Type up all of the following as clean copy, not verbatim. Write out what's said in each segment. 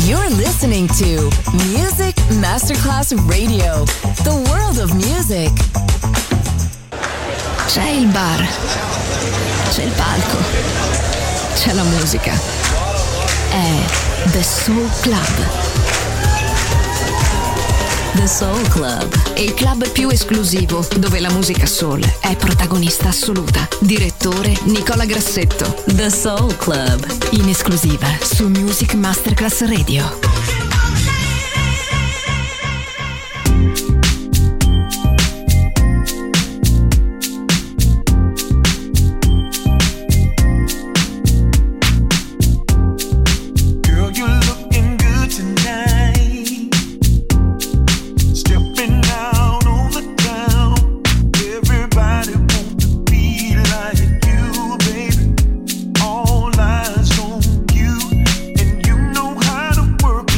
You're listening to Music Masterclass Radio, the world of music. C'è il bar, c'è il palco, c'è la musica. È The Soul Club. The Soul Club, il club più esclusivo dove la musica soul è protagonista assoluta. Direttore Nicola Grassetto. The Soul Club, in esclusiva su Music Masterclass Radio. All eyes on you, and you know how to work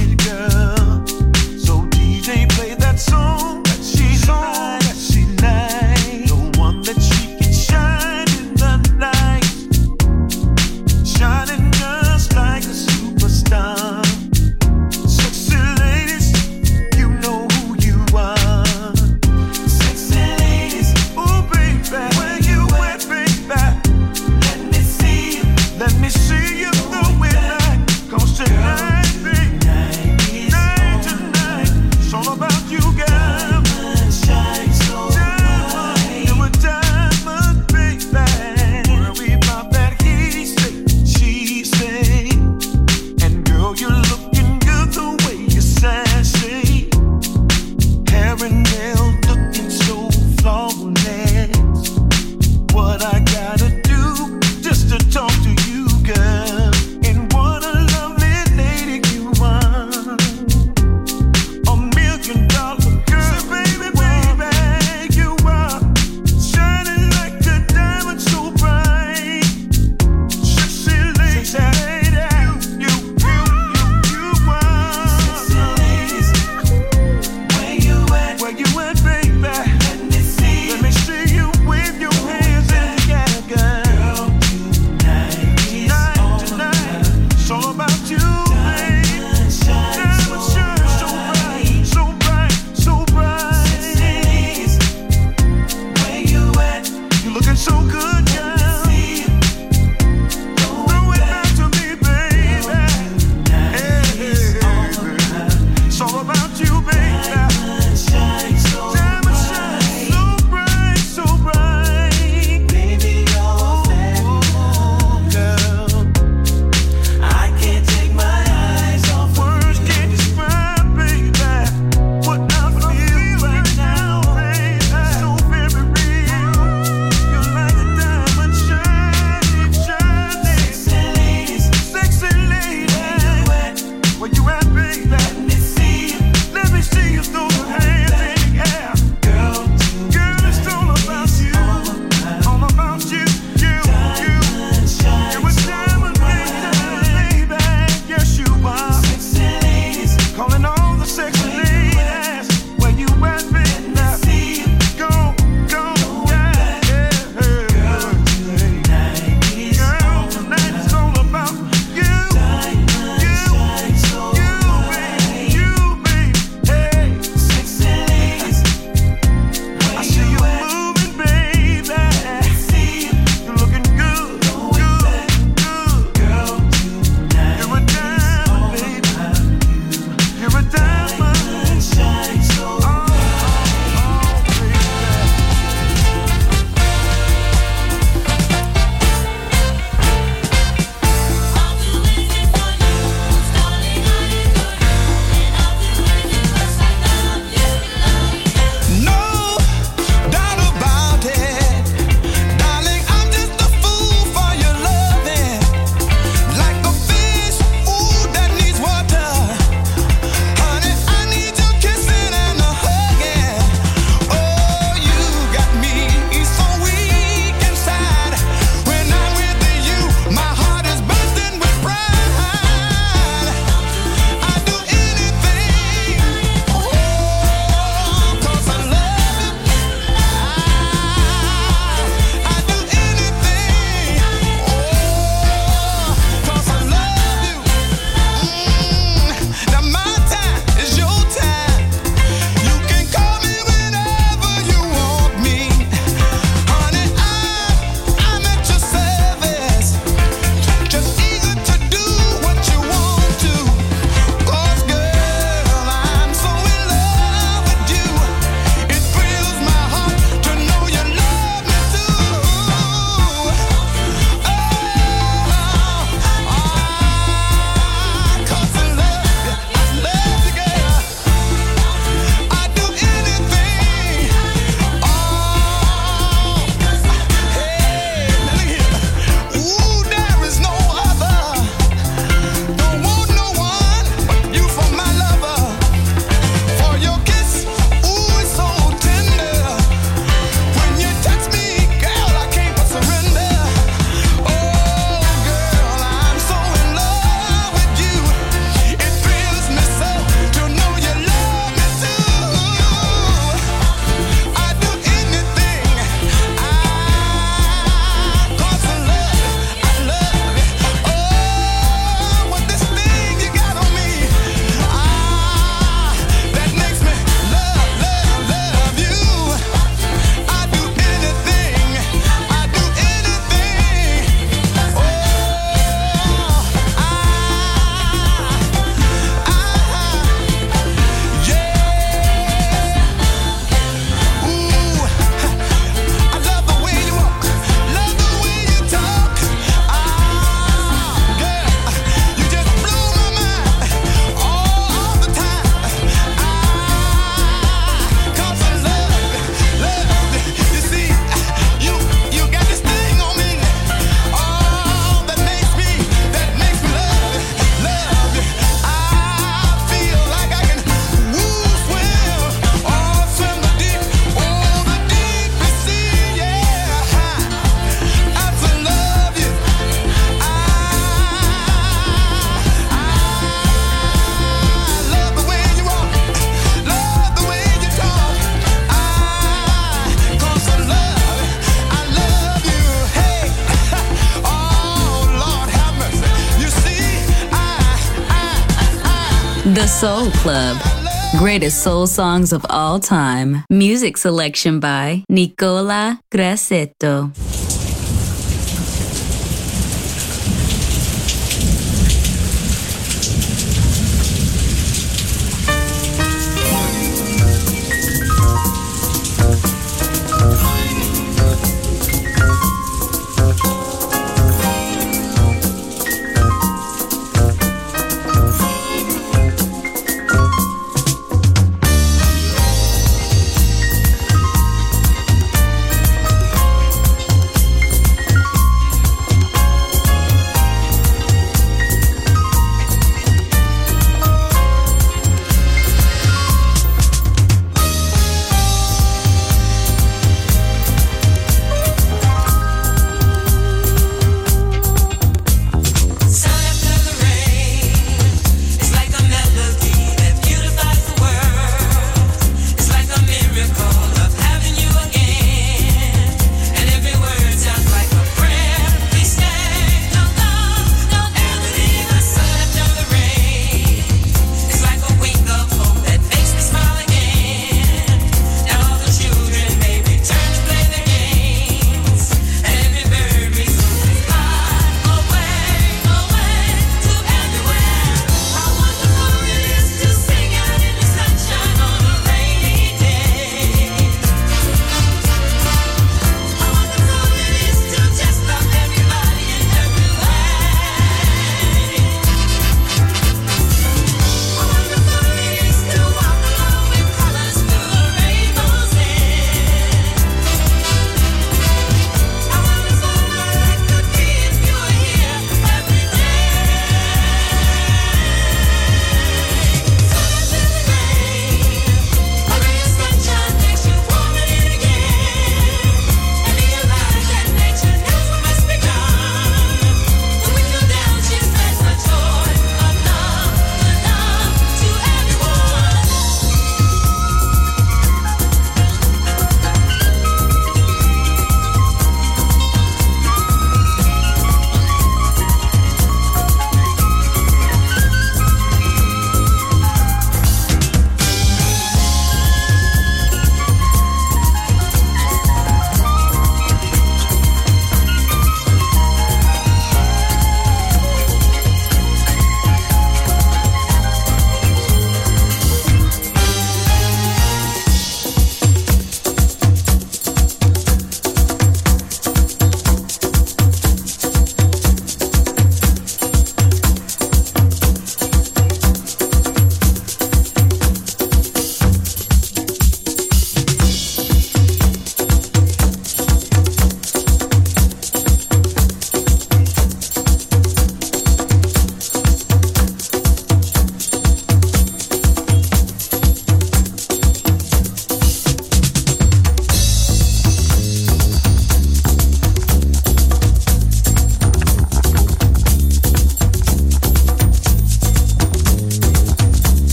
The Soul Club. Greatest soul songs of all time. Music selection by Nicola Grassetto.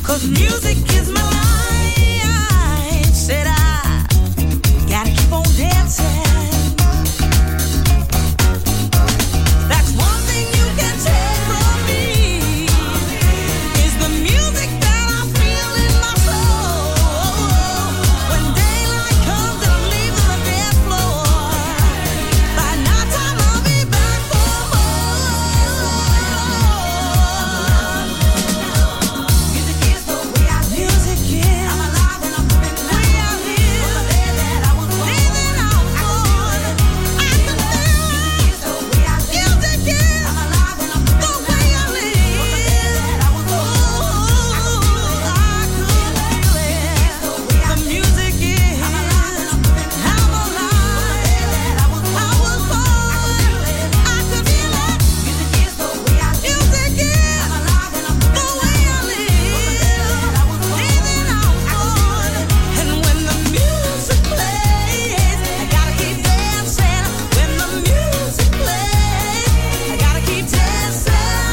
'cause music is my life. Said I gotta keep on dancing. That's one thing you can take from me, is the music that I feel in my soul. When daylight comes and I'm leaving the dance floor, by night time I'll be back for more. Music is the way I live. Music is. I'm alive and I'm living the way I live. From the day that I was born, living out on. I can feel. Music is the way I live. Music is. I'm alive and I'm living the way I live. From the day that I was born, I could feel it. The music is. I'm alive and I'm living. I'm alive. From the day that I was born, I could feel it. Music is the way I live. Music is. I'm alive and I'm living the way I live. Living out on. And when the music plays, I gotta keep dancing. When the music plays, I gotta keep dancing.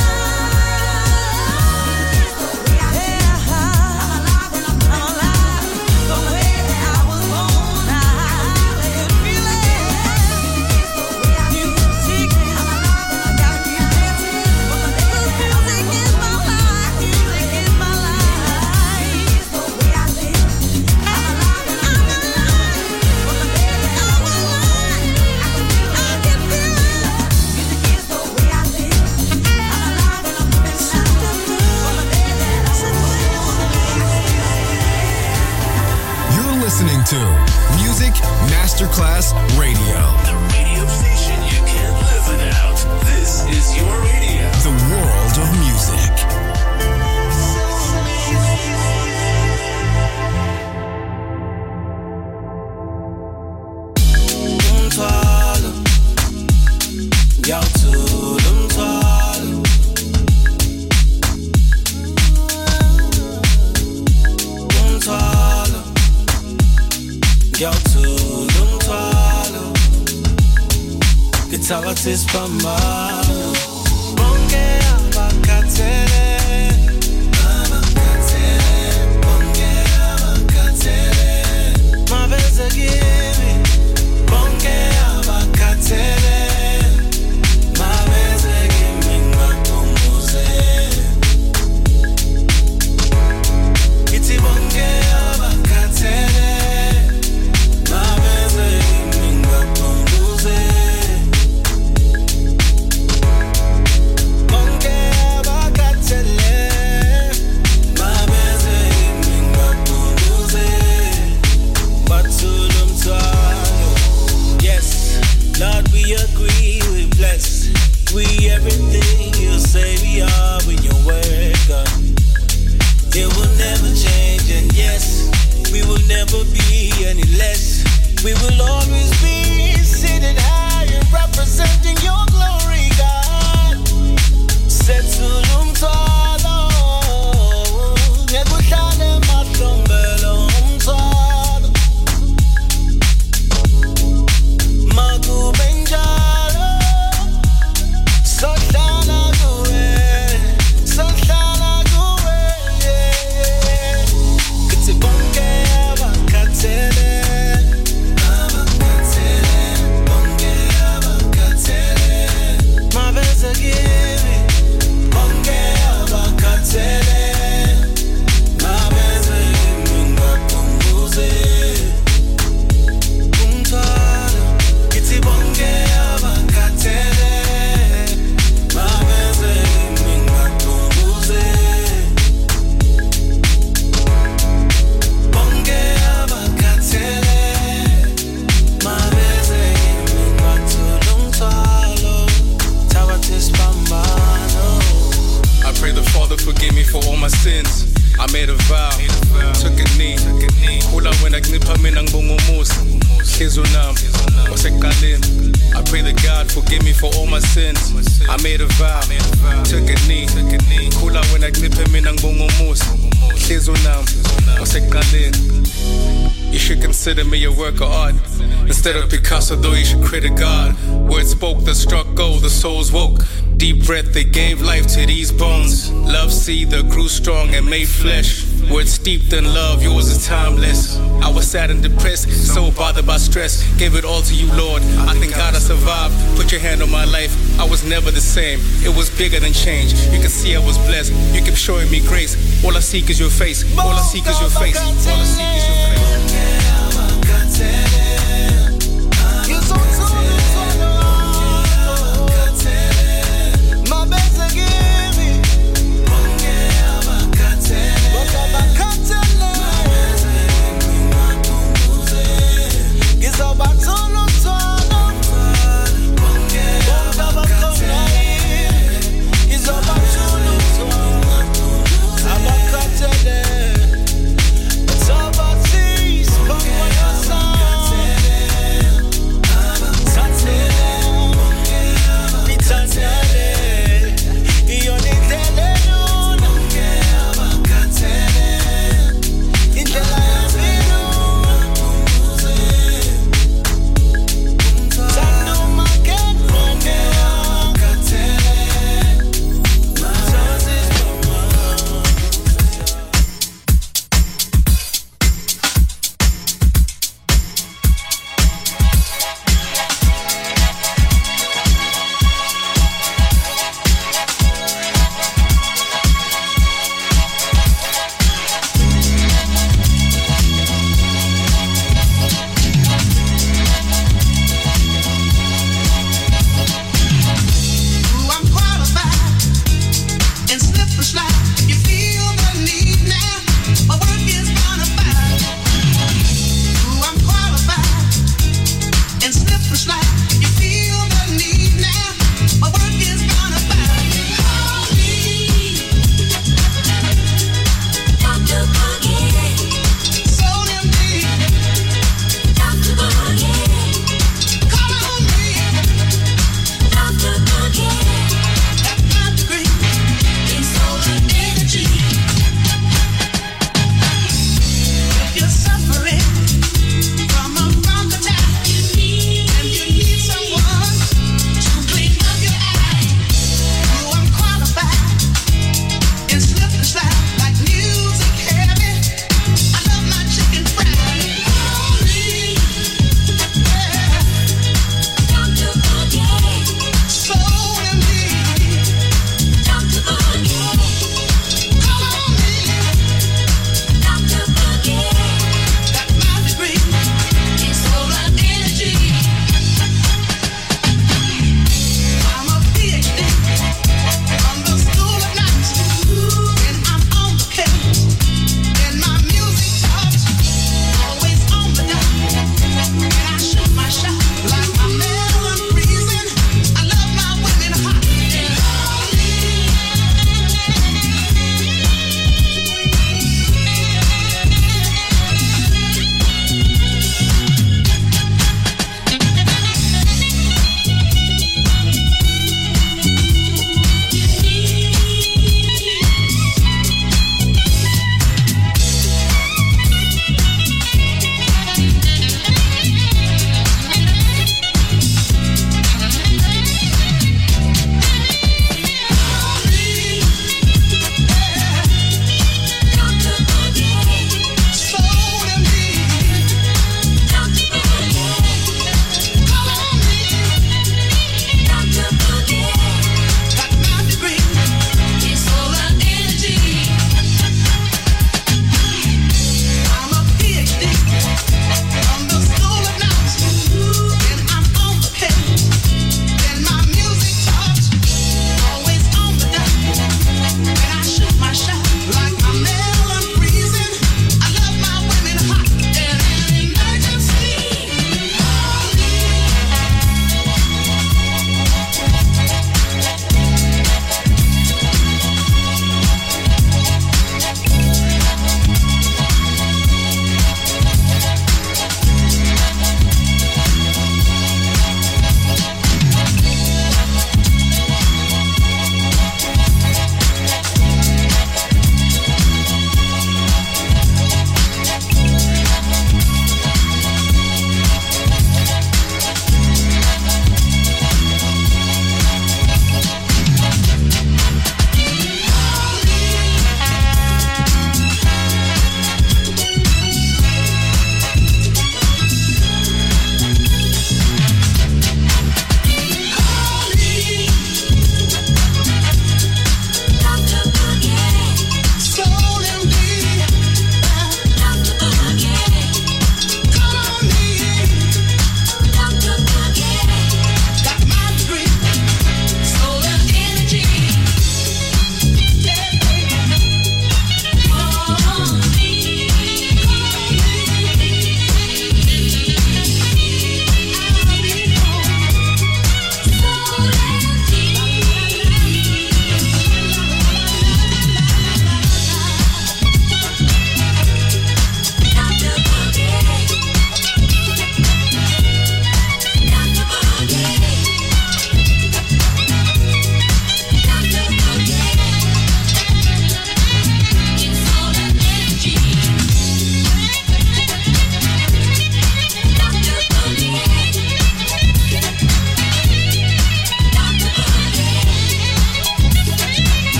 I'm alive the way that I was born. I could feel it. Music, I'm alive and I gotta keep dancing. Because music is my life. Music is my life. The way I live. I'm alive and I'm alive. From the day that I'm alive, I can feel it. Music is the way I live. I'm alive and I'm living now. From the day that I was You're listening to Music Masterclass Radio. The radio station you can't live without. This is your radio. The world of music. Umthwalo, ngiyawuthula umthwalo. Umthwalo, ngiyawuthula umthwalo. Ngithabatha isiphambano. Bonke abakhathele, bonke abakhathele, mabeze kimi. Bonke abakhathele, mabeze kimi ngibakhumbuze. Ngithi bonke abakhathele, mabeze kimi ngibakhumbuze. Bonke abakhathele, mabeze kimi ngibakhumbuze. Bathula umthwalo. Yes, Lord, we agree, we bless. We everything you say we are when your word, God. It will never change, and yes, we will never be any less. We will always be seated high and representing your glory, God. Sethula umthwalo, ngekuhlale emahlombe umthwalo. Makube njalo, sohlala kuwe, sohlala kuwe, yeah. Kithi bonke abakhathele, bonke abakhathele, mabeze kimi. Bonke abakhathele, mabeze kimi ngibakhumbuze. Umthwalo, ngithi bonke abakhathele, mabeze kimi ngibakhumbuze. Bonke abakhathele, mabeze kimi ngibathula umthwalo. Thabatha isiphambano. I pray the Father forgive me for all my sins. I made a vow, took a knee. Khula wena kuncipha mina ngibonga umusa. Hliziyo nami wasekuqaleni. I pray that God forgive me for all my sins. I made a vow, took a knee. Khula wena kuncipha mina ngibonga umusa. Hliziyo nami wasekuqaleni. You should consider me a work of art. Instead of Picasso, though, you should credit God. Words spoke that struck gold, the souls woke. Deep breath that gave life to these bones. Love seed that grew strong and made flesh. Words steeped in love, yours is timeless. I was sad and depressed, so bothered by stress. Gave it all to you, Lord. I thank God I survived. Put your hand on my life. I was never the same. It was bigger than change. You can see I was blessed. You kept showing me grace. All I seek is your face. All I seek is your face. All I seek is your face. You're so my best again.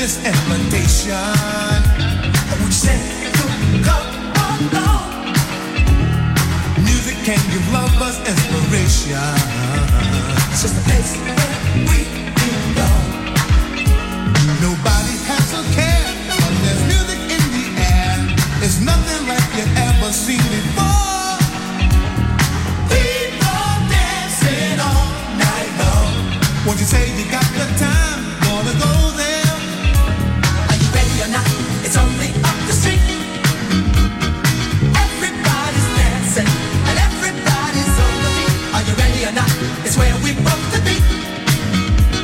this invitation. Would you say you'll come along? Music can give lovers inspiration. It's just a place where we belong. Nobody has to care, but there's music in the air. It's nothing like you've ever seen before. People dancing all night long. Won't you say you got the time? Wanna go there? Are you ready or not? It's only up the street. Everybody's dancing and everybody's on the beat. Are you ready or not? It's where we both to be.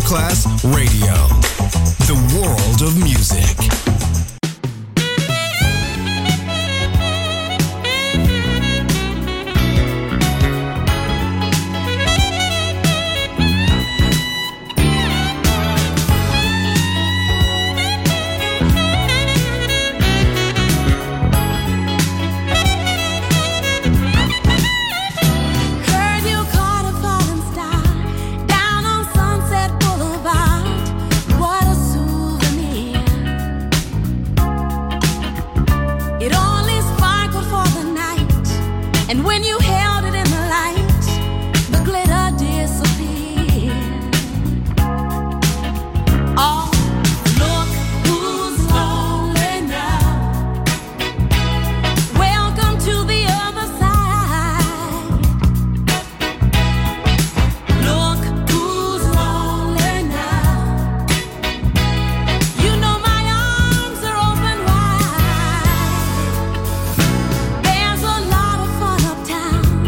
Masterclass Radio. The world of music. There's a lot of fun uptown.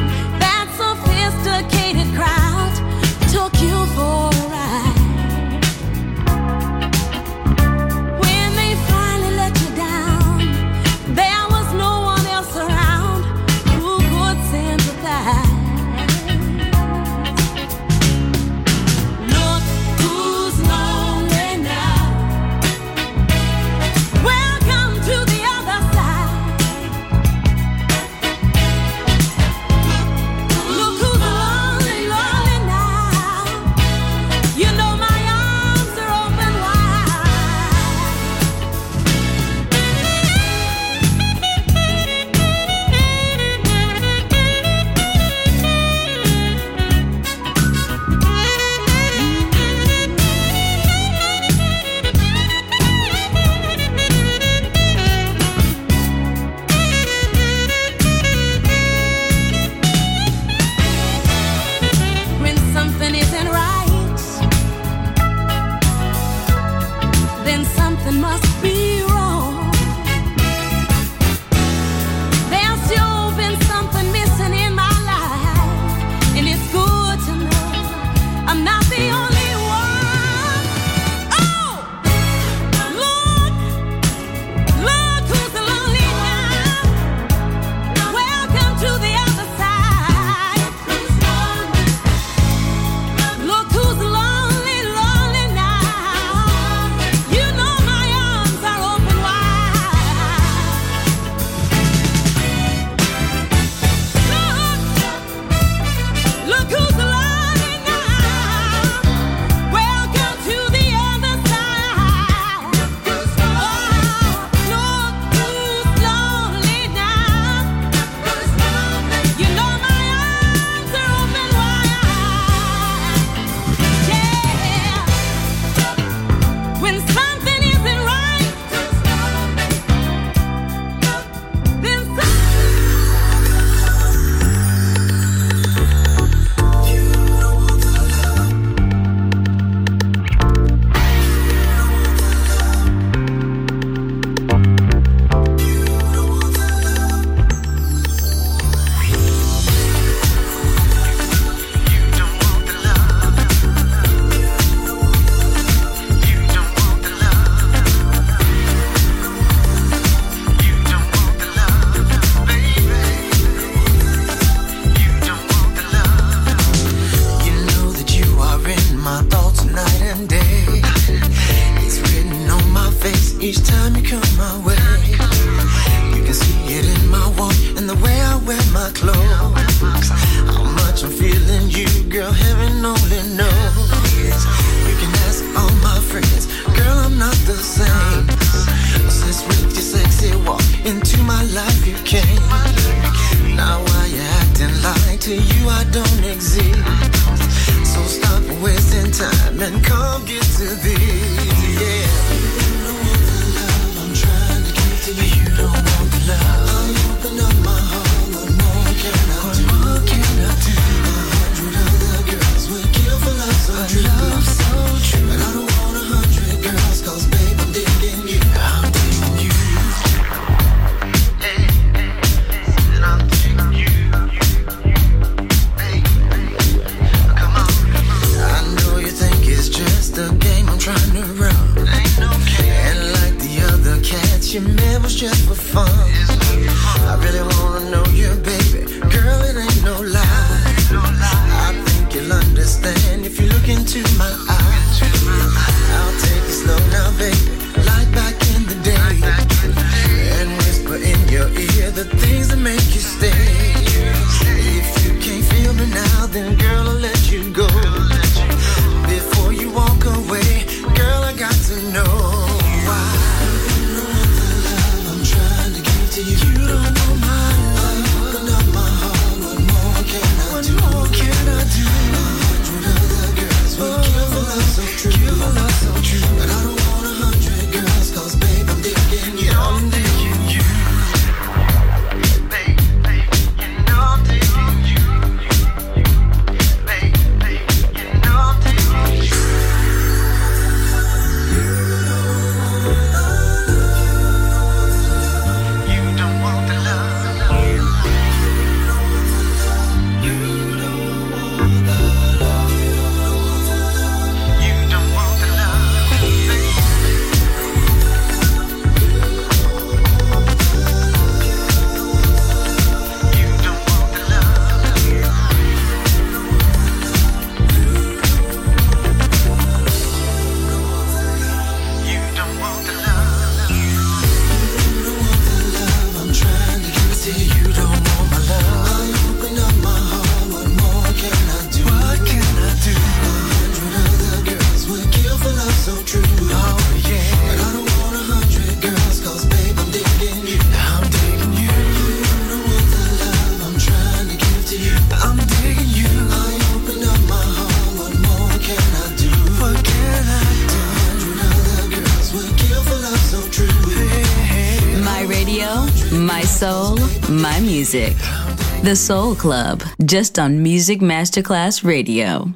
music. The Soul Club, just on Music Masterclass Radio.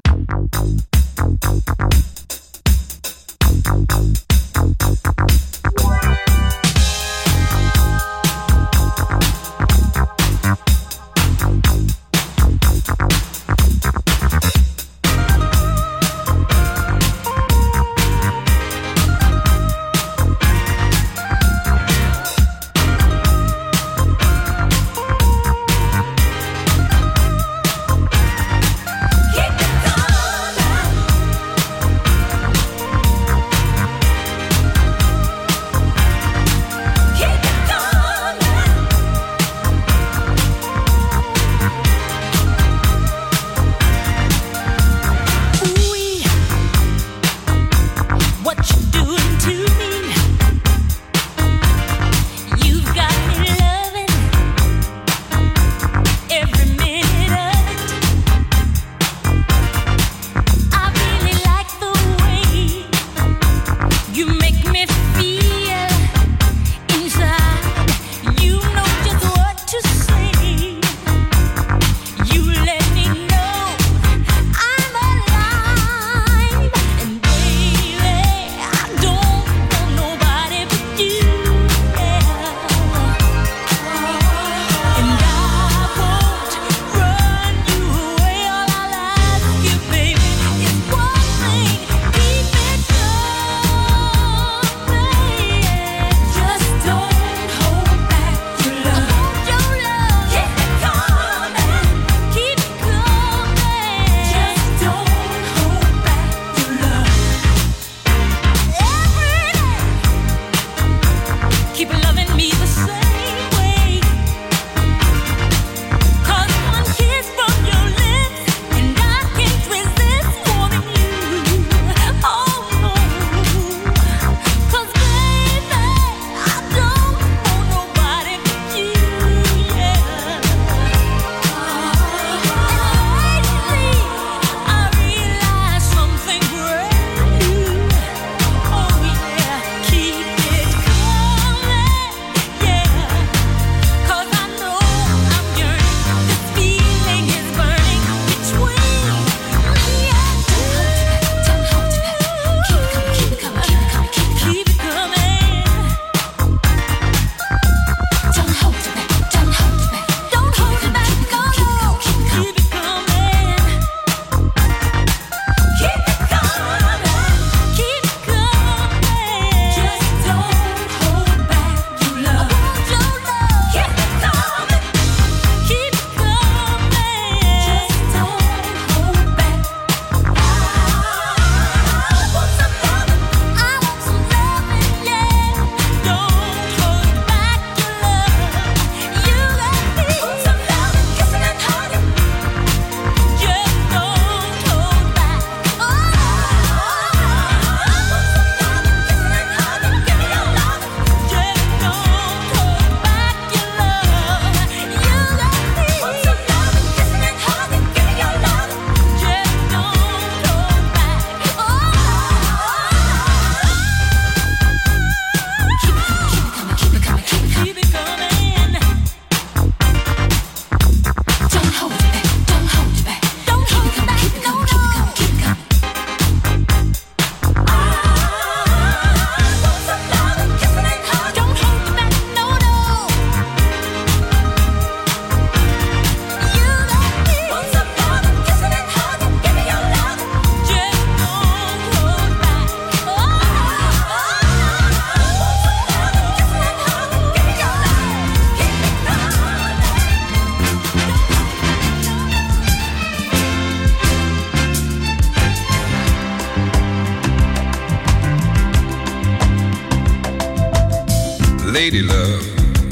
Lady love,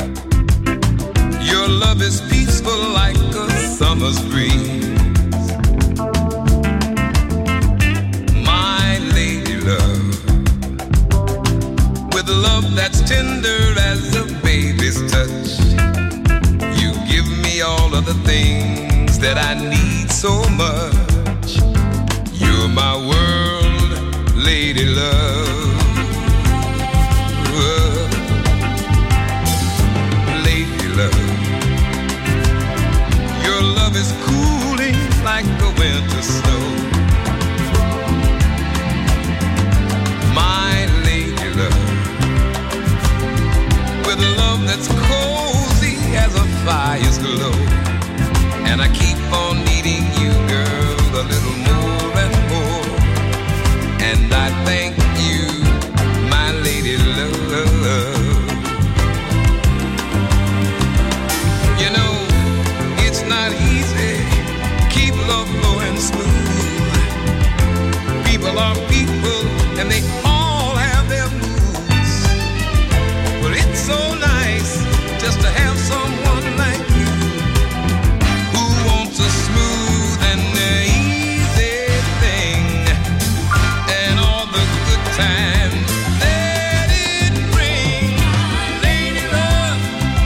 your love is peaceful like a summer's breeze. My lady love, with love that's tender as a baby's touch, you give me all of the things that I need so much. You're my world, lady love. Lady love, is cooling like the winter snow. My lady love, with love that's cozy as a fire's glow. And I keep on needing you, girl, a little more and more. And I thank you, my lady love. You know, it's not easy, keep love flowing smooth. People are people, and they all have their moods. But it's so nice just to have someone like you, who wants a smooth and easy thing, and all the good times that it brings. Lady love,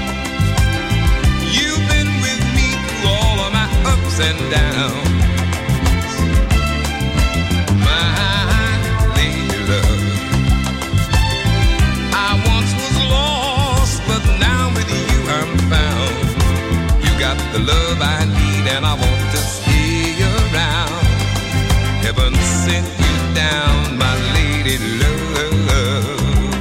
you've been with me through all of my ups and downs. The love I need, and I want to stay around. Heaven sent you down, my lady love.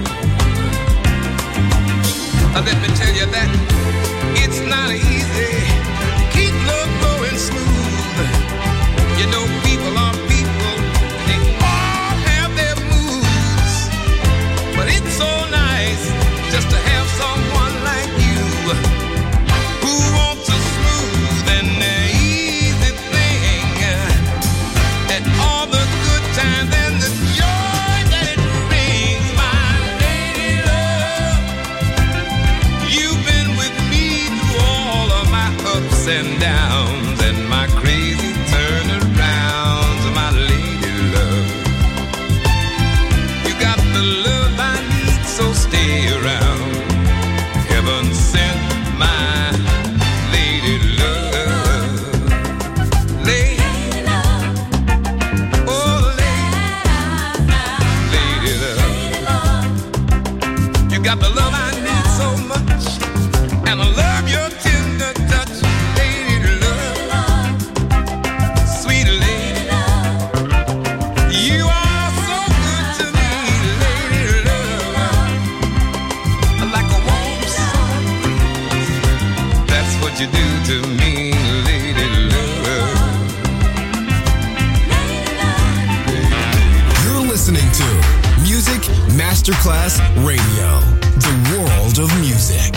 Let me tell you that it's not easy. Keep love going smooth. You know, people are people, they all have their moods. But it's so nice just to have someone like you, who wants a smooth and easy thing, and all the good times and the joy that it brings. My lady love, you've been with me through all of my ups and downs and my crazy turnarounds. My lady love, you got the love I need, so stay around. Heaven sent my lady love. Lady love. Oh, lady love. You got the love I need so much, and I love your tender touch. Lady love. Sweet lady love. You are so good to me, lady love. Like a warm sun, that's what you do to me, lady love. You're listening to Music Masterclass Radio, the world of music.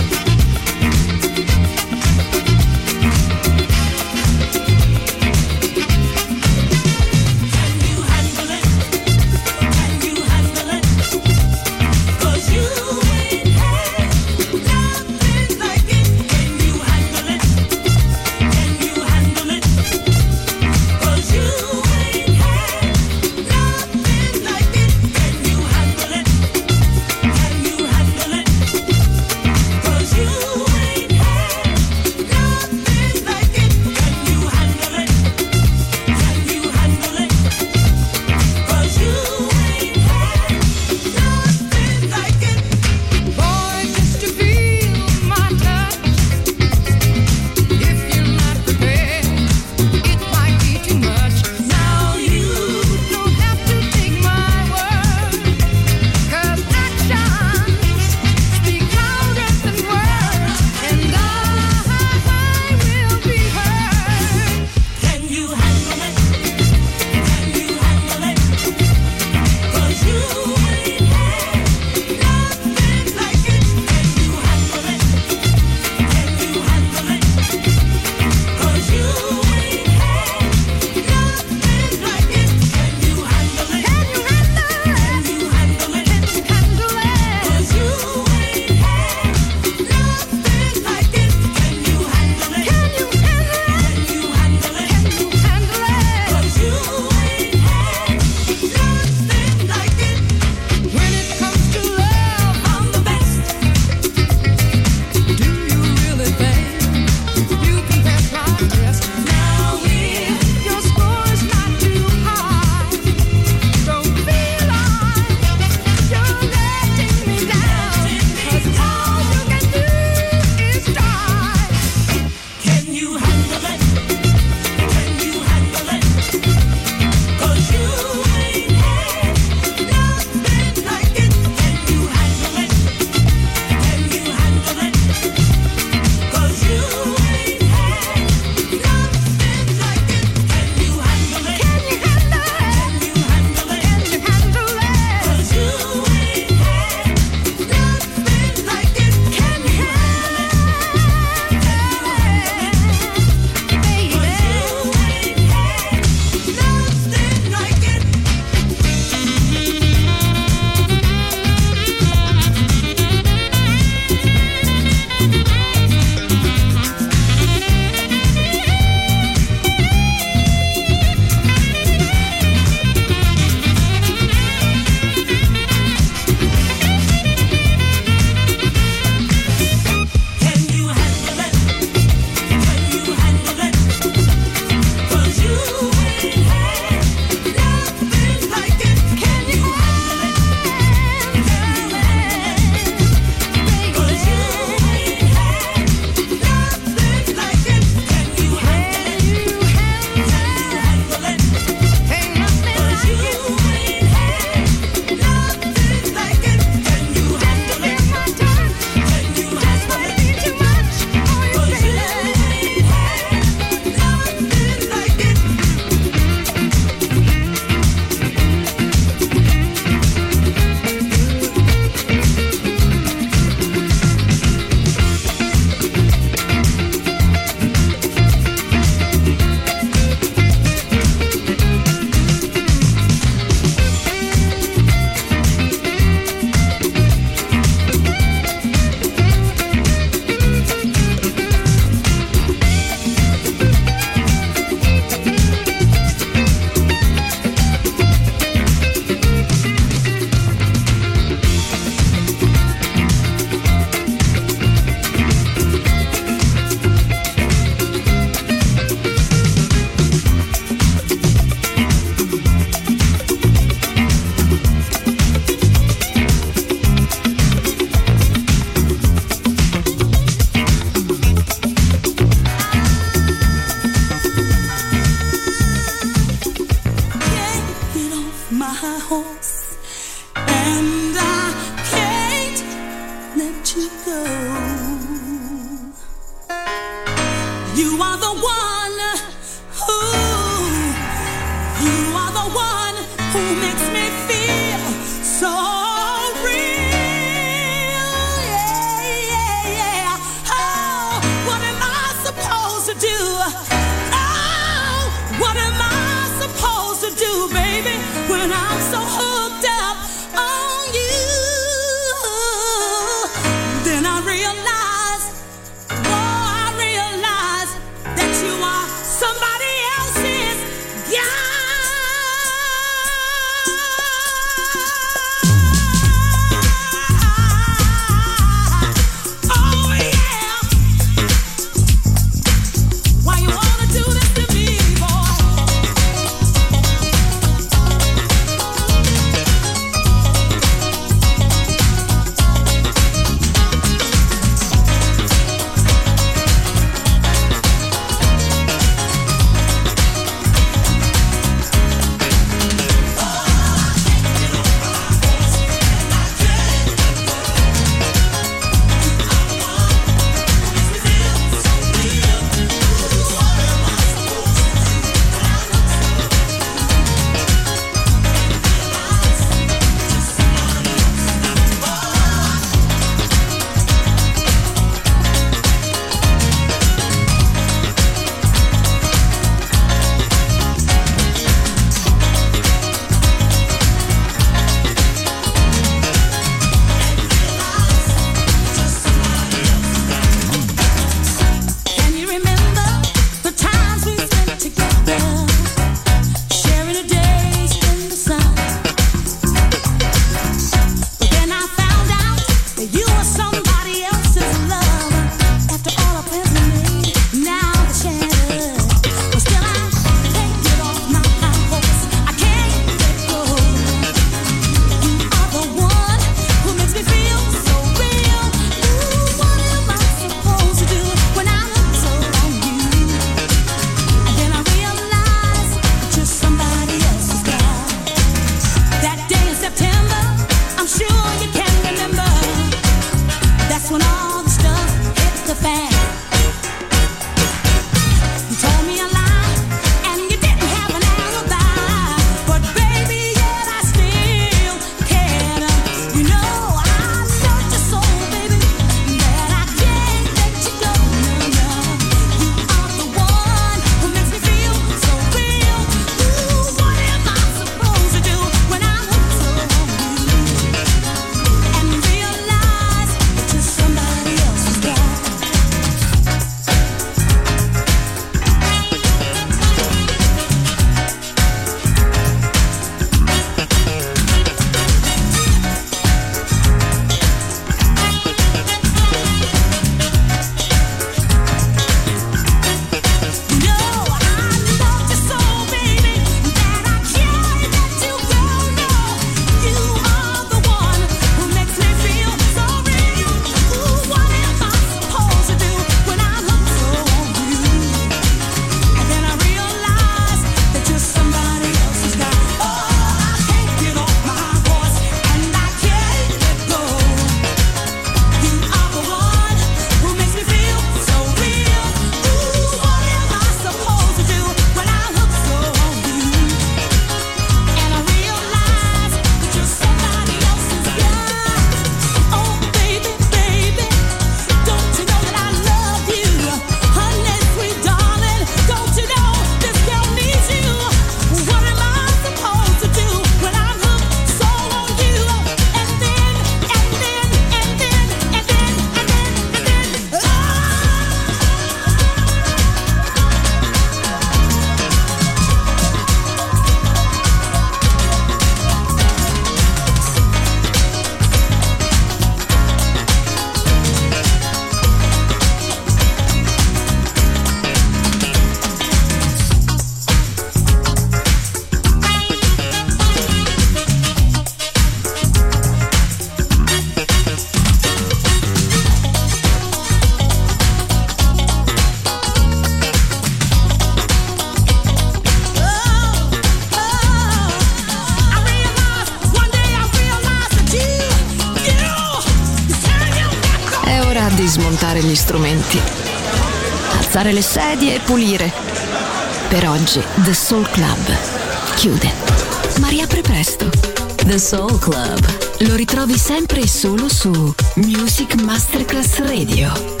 di smontare gli strumenti, alzare le sedie e pulire. Per oggi The Soul Club chiude, ma riapre presto. The Soul Club lo ritrovi sempre e solo su Music Masterclass Radio.